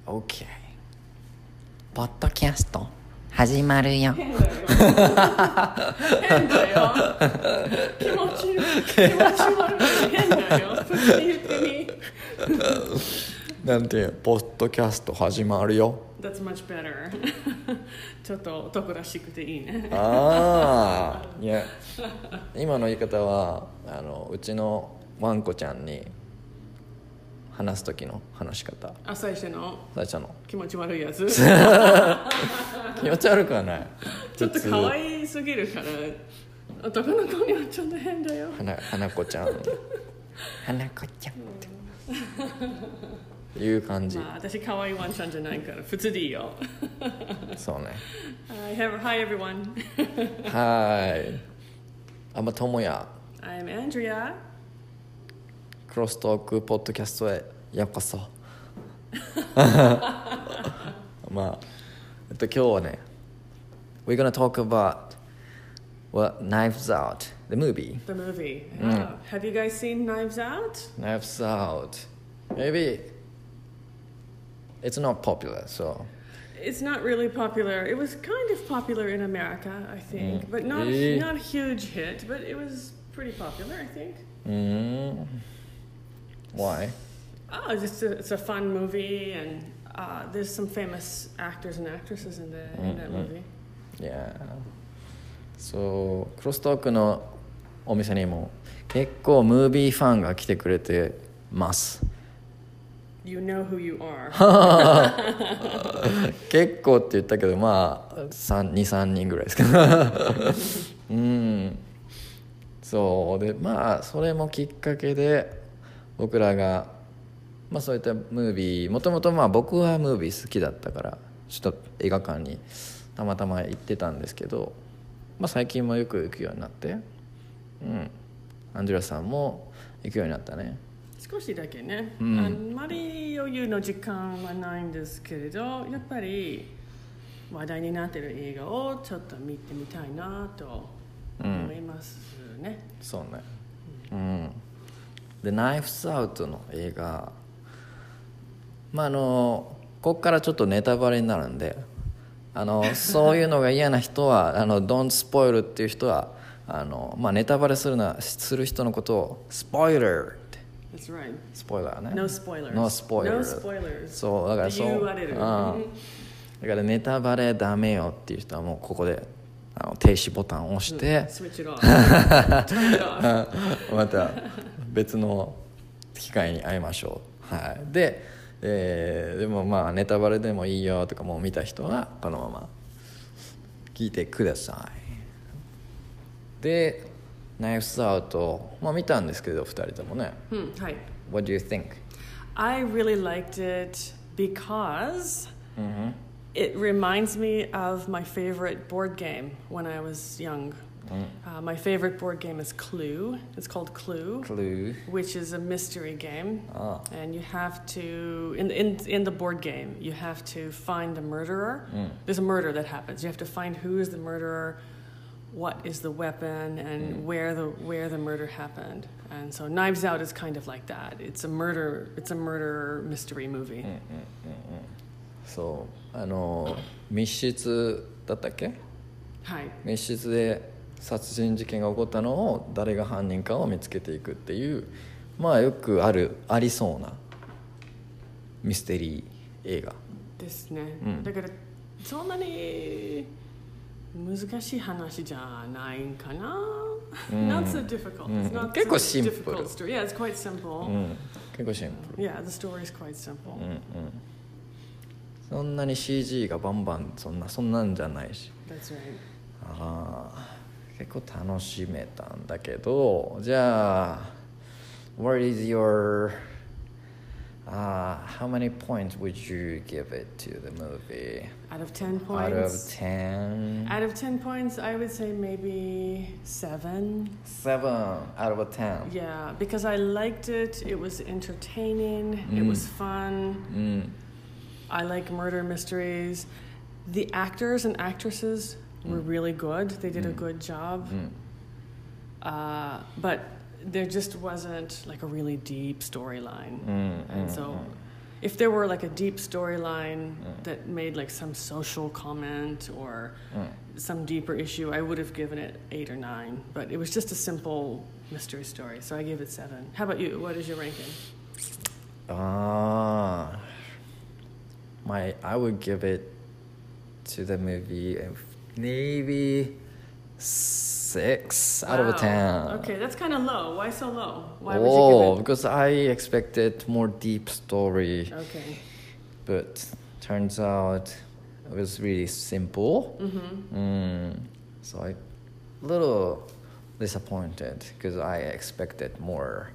OK ポッドキャスト始まるよ変だよ変だよ気持ち悪い変だよ普通に言ってみなんてポッドキャスト始まるよ That's much better ちょっと男らしくていいねああいや今の言い方はうちのワンコちゃんに話す時の話し方最初の気持ち悪いやつ持ち悪くはないちょっと可愛すぎるから男の子にはちょっと変だよ花子ちゃん花子ちゃんっていう感じ、 私可愛いワンちゃんじゃないから普通でいいよそうね Hi everyone Hi I'm Tomoya I'm Andrea クロストークポッドキャストへようこそ今日はね We're gonna talk about Knives Out the movie Have you guys seen Knives Out? Knives Out Maybe it's not popular so It's not really popular. It was kind of popular in America, I think, but not a huge hit. But it was pretty popular, I think. Why? It's a fun movie, and there's some famous actors and actresses in that movie. Yeah. So クロストークのお店にも結構ムービーファンが来てくれてます。 You know who you are 結構って言ったけど2,3 人ぐらいですかそうでそれもきっかけで僕らがそういったムービーもともと僕はムービー好きだったからちょっと映画館にたまたま行ってたんですけど、最近もよく行くようになってアンジェラさんも行くようになったね少しだけね、あんまり余裕の時間はないんですけれどやっぱり話題になっている映画をちょっと見てみたいなと思いますね、 そうねでナイフスアウトの映画ここからちょっとネタバレになるんでそういうのが嫌な人はDon't spoil っていう人はネタバレする人のことをスポイラー That's right. スポイラーね No spoilers. No spoilers. そうだから言われる、 だからネタバレダメよっていう人はもうここで停止ボタンを押して、また別の機会に会いましょう、はい、でもネタバレでもいいよとかもう見た人はこのまま聞いてくださいでナイフスアウト見たんですけど2人ともね、 はい、 What do you think? I really liked it because it reminds me of my favorite board game when I was young. My favorite board game is Clue. It's called Clue, which is a mystery game. And you have to, in the board game, you have to find the murderer. There's a murder that happens. You have to find who is the murderer, what is the weapon, and where the murder happened. And so Knives Out is kind of like that. It's a murder mystery movie. そう密室だったっけ？ はい。 密室で殺人事件が起こったのを誰が犯人かを見つけていくっていうよくありそうなミステリー映画ですね、だからそんなに難しい話じゃないんかな、Not so difficult. It's not 結構シンプル difficult story. Yeah, it's quite simple. 結構シンプル Yeah, the story is quite simple. そんなに CG がバンバンそんなんじゃないし That's right. 結構楽しめたんだけどじゃあ What is your how many points would you give it to the movie? Out of 10 points? Out of 10 points, I would say maybe 7. 7 out of 10. Yeah, because I liked it. It was entertaining. It was fun. I like murder mysteries. The actors and actresses were really good. They did a good job. But there just wasn't like a really deep storyline. And so if there were like a deep storyline that made like some social comment or some deeper issue, I would have given it 8 or 9. But it was just a simple mystery story, so I gave it 7. How about you? What is your ranking? I would give it to the movie maybe 6 out of 10. Okay, that's kind of low. Why so low? Why would you give it? Because I expected more deep story. Okay. But turns out it was really simple. So I a little disappointed because I expected more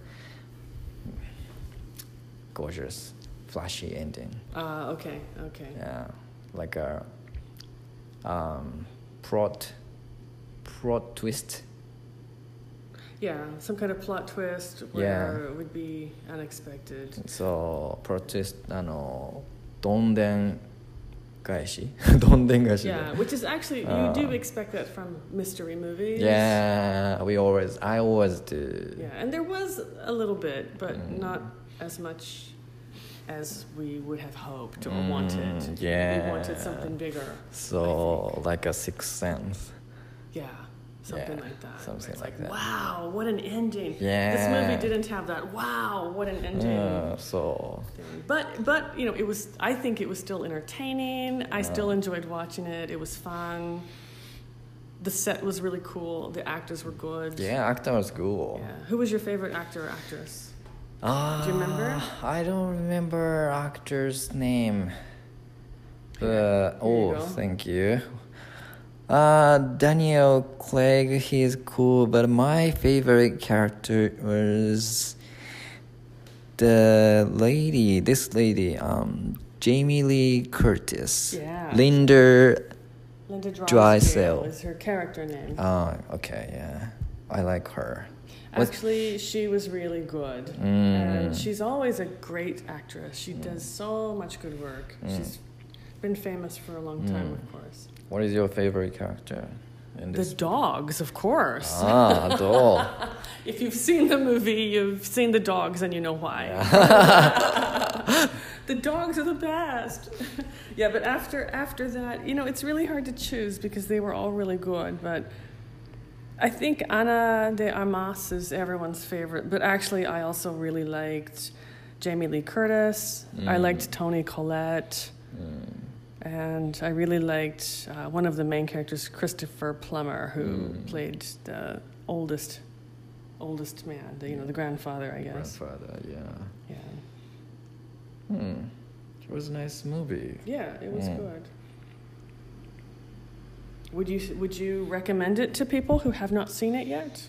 gorgeous, flashy ending. Okay. Yeah, like a plot twist. Yeah, some kind of plot twist where it would be unexpected. So plot twist, どんでん返しどんでん返し Yeah, which is actually, you do expect that from mystery movies. Yeah, I always do. Yeah, and there was a little bit, but not as much as we would have hoped or wanted. Yeah. We wanted something bigger. So, like a Sixth Sense. Yeah, something like that. Something it's like that. Wow, what an ending. Yeah. This movie didn't have that. Wow, what an ending. So. But I think it was still entertaining. I still enjoyed watching it. It was fun. The set was really cool. The actors were good. Yeah, actor was cool. Yeah. Who was your favorite actor or actress? Do you remember? I don't remember actor's name. Here you go. Thank you. Daniel Craig, he's cool, but my favorite character was this lady, Jamie Lee Curtis. Yeah. Linda Drysdale is her character name. Oh, okay, yeah. I like her. Actually, she was really good. And she's always a great actress. She does so much good work. She's been famous for a long time, of course. What is your favorite character in this? The dogs, of course. Dog. If you've seen the movie, you've seen the dogs and you know why. Yeah. The dogs are the best. Yeah, but after that, it's really hard to choose because they were all really good. But I think Ana de Armas is everyone's favorite. But actually, I also really liked Jamie Lee Curtis. I liked Toni Collette. And I really liked one of the main characters, Christopher Plummer, who played the oldest man, the grandfather, I guess. Grandfather, yeah. Yeah. It was a nice movie. Yeah, it was good. Would you recommend it to people who have not seen it yet?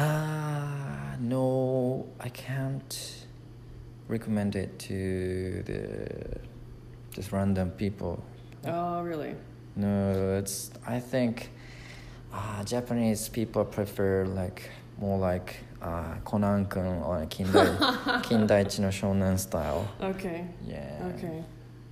No, I can't recommend it to just random people. Oh, really? No, I think Japanese people prefer more like Conan-kun or Kindaichi no Shonen style. Okay. Yeah. Okay.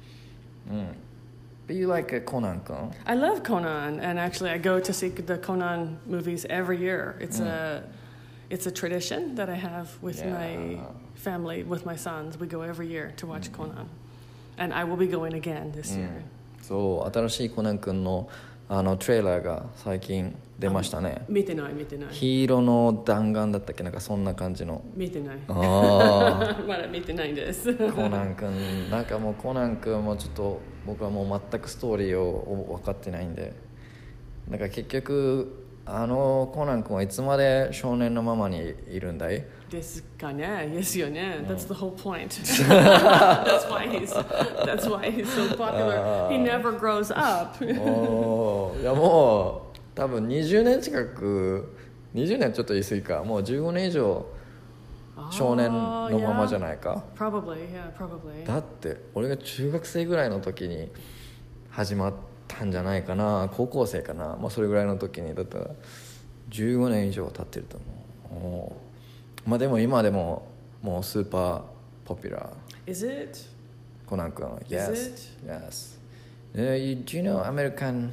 But you like Conan-kun? I love Conan, and actually I go to see the Conan movies every year. It's a tradition that I have with my family, with my sons. We go every year to watch Conan. And I will be going again this year. そう、新しいコナン君のトレーラーが最近出ましたね。 見てない。 黄色の弾丸だったっけ、なんかそんな感じの。 見てない。まだ見てないんです。 コナン君、なんかもうコナン君もちょっと僕はもう全くストーリーを分かってないんで、なんか結局コナン君はいつまで少年のままにいるんだい？ ですかね。ですよね。That's the whole point. That's why he's so popular. He never grows up. いやもう多分20年近く、20年ちょっと言い過ぎか、もう15年以上少年のままじゃないか。 Probably, yeah, probably. だって俺が中学生ぐらいの時に始まったんじゃないかな、高校生かな、それぐらいの時にだったら15年以上経ってると思う。でも今でももうスーパーポピュラー。 Is it? コナン君。Yes. Is it? Yes. Do you know American?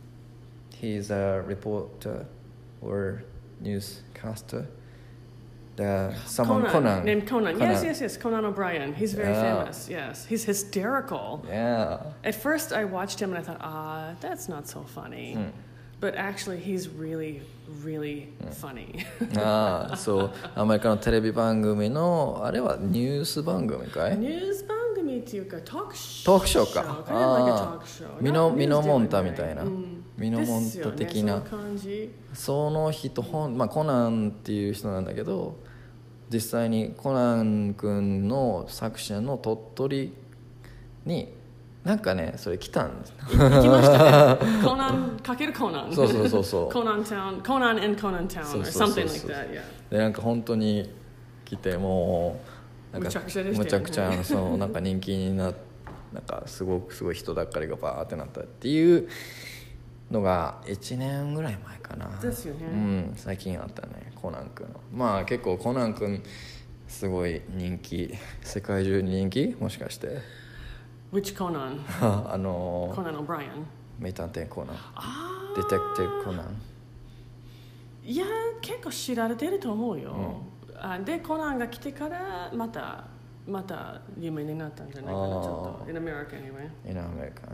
He's a reporter or newscaster. someone Conan. Named Conan. Yes. Conan O'Brien. He's very famous. Yes. He's hysterical. Yeah. At first I watched him and I thought, that's not so funny. But actually he's really, really funny. そうアメリカのテレビ番組のあれはニュース番組かい？ ニュース番組っていうかトークショー。 トークショーか。 Kind of like a talk show. ミノモンタみたいな。ミノモンタ的な。 ですよね、その感じ。 その人まあコナンっていう人なんだけど、実際にコナン君の作者の鳥取になんかねそれ来たんです。 行きましたね。コナンかけるコナン。 そう。 コナンタウン、コナン in コナンタウン or something like that. Yeah. でなんか本当に来てもうなんかむちゃくちゃそうなんか人気になんかすごい人だかりがバーってなったっていうのが1年ぐらい前かな。 ですよね。 最近あったねコナン君の。まあ結構コナン君すごい人気、世界中に人気もしかして。 Which Conan? Conan O'Brien. 名探偵コナン。デテクティブコナン。 いや結構知られてると思うよ。でコナンが来てからまた有名になったんじゃないかなちょっと。In America anyway. In America.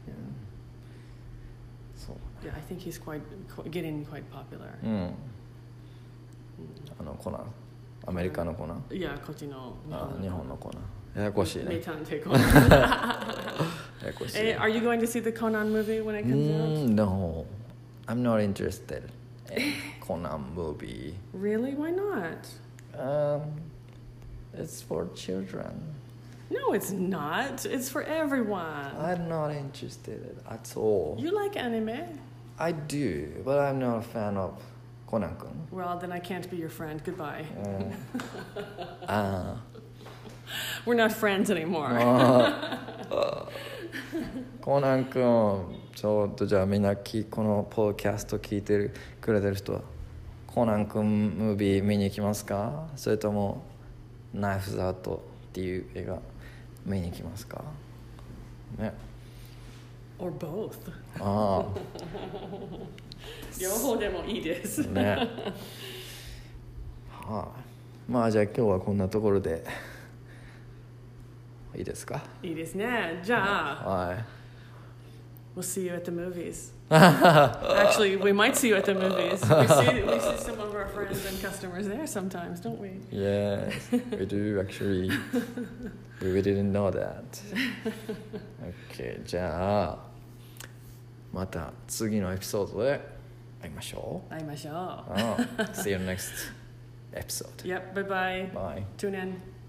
So. Yeah, I think he's getting quite popular. コナン。アメリカのコナン。 いやこっちの日本のコナン。ややこしいね。 名探偵コナン。 ややこしい。 Are you going to see the Conan movie when it comes out? No, I'm not interested in Conan movie. Really? Why not? It's for children. No, it's not. It's for everyone. I'm not interested at all. You like anime? I do, but I'm not a fan of Conan-kun. Well, then I can't be your friend. Goodbye. We're not friends anymore. コナン君ちょっとじゃあみんなこのポッドキャスト聞いてくれてる人はコナン君ムービー見に行きますか？それともナイフズアウトっていう映画見に行きますかね。 Or both. 両方でもいいですね。まあじゃあ今日はこんなところでいいですか？ いいですね。じゃあ、 はい。 We'll see you at the movies. Actually, we might see you at the movies. We see some of our friends and customers there sometimes, don't we? Yes, we do actually. We didn't know that. Okay, じゃあまた次のエピソードで会いましょう。 See you next See you next episode. Yep, bye-bye. Bye. Tune in.